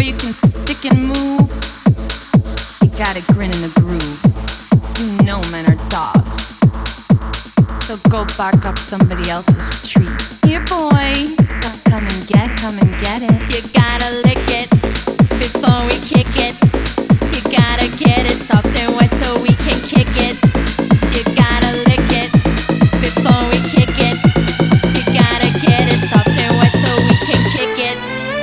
you can stick and move, you gotta grin in the groove. You know men are dogs, so go bark up somebody else's tree. Here boy, come and get it. You gotta lick it before we kick it. You gotta get it soft and wet so we can kick it. You gotta lick it before we kick it. You gotta get it soft and wet so we can kick it.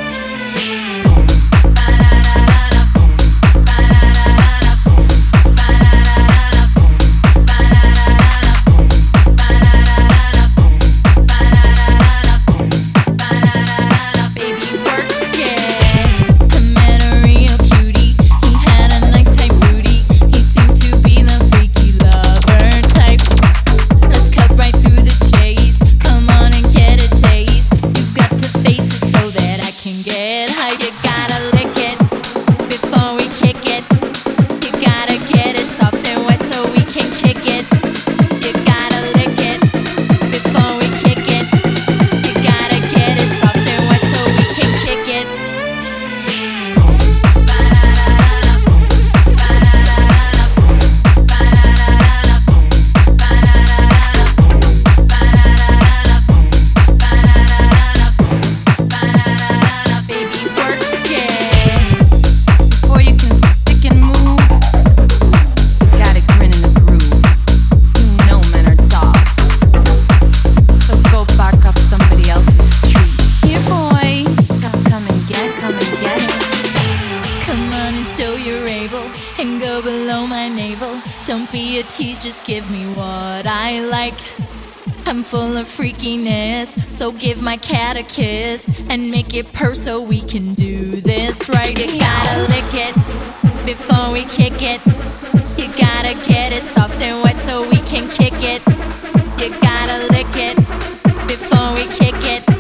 Show you're able and go below my navel. Don't be a tease, just give me what I like. I'm full of freakiness, so give my cat a kiss and make it purr so we can do this right. You gotta lick it before we kick it. You gotta get it soft and wet so we can kick it. You gotta lick it before we kick it.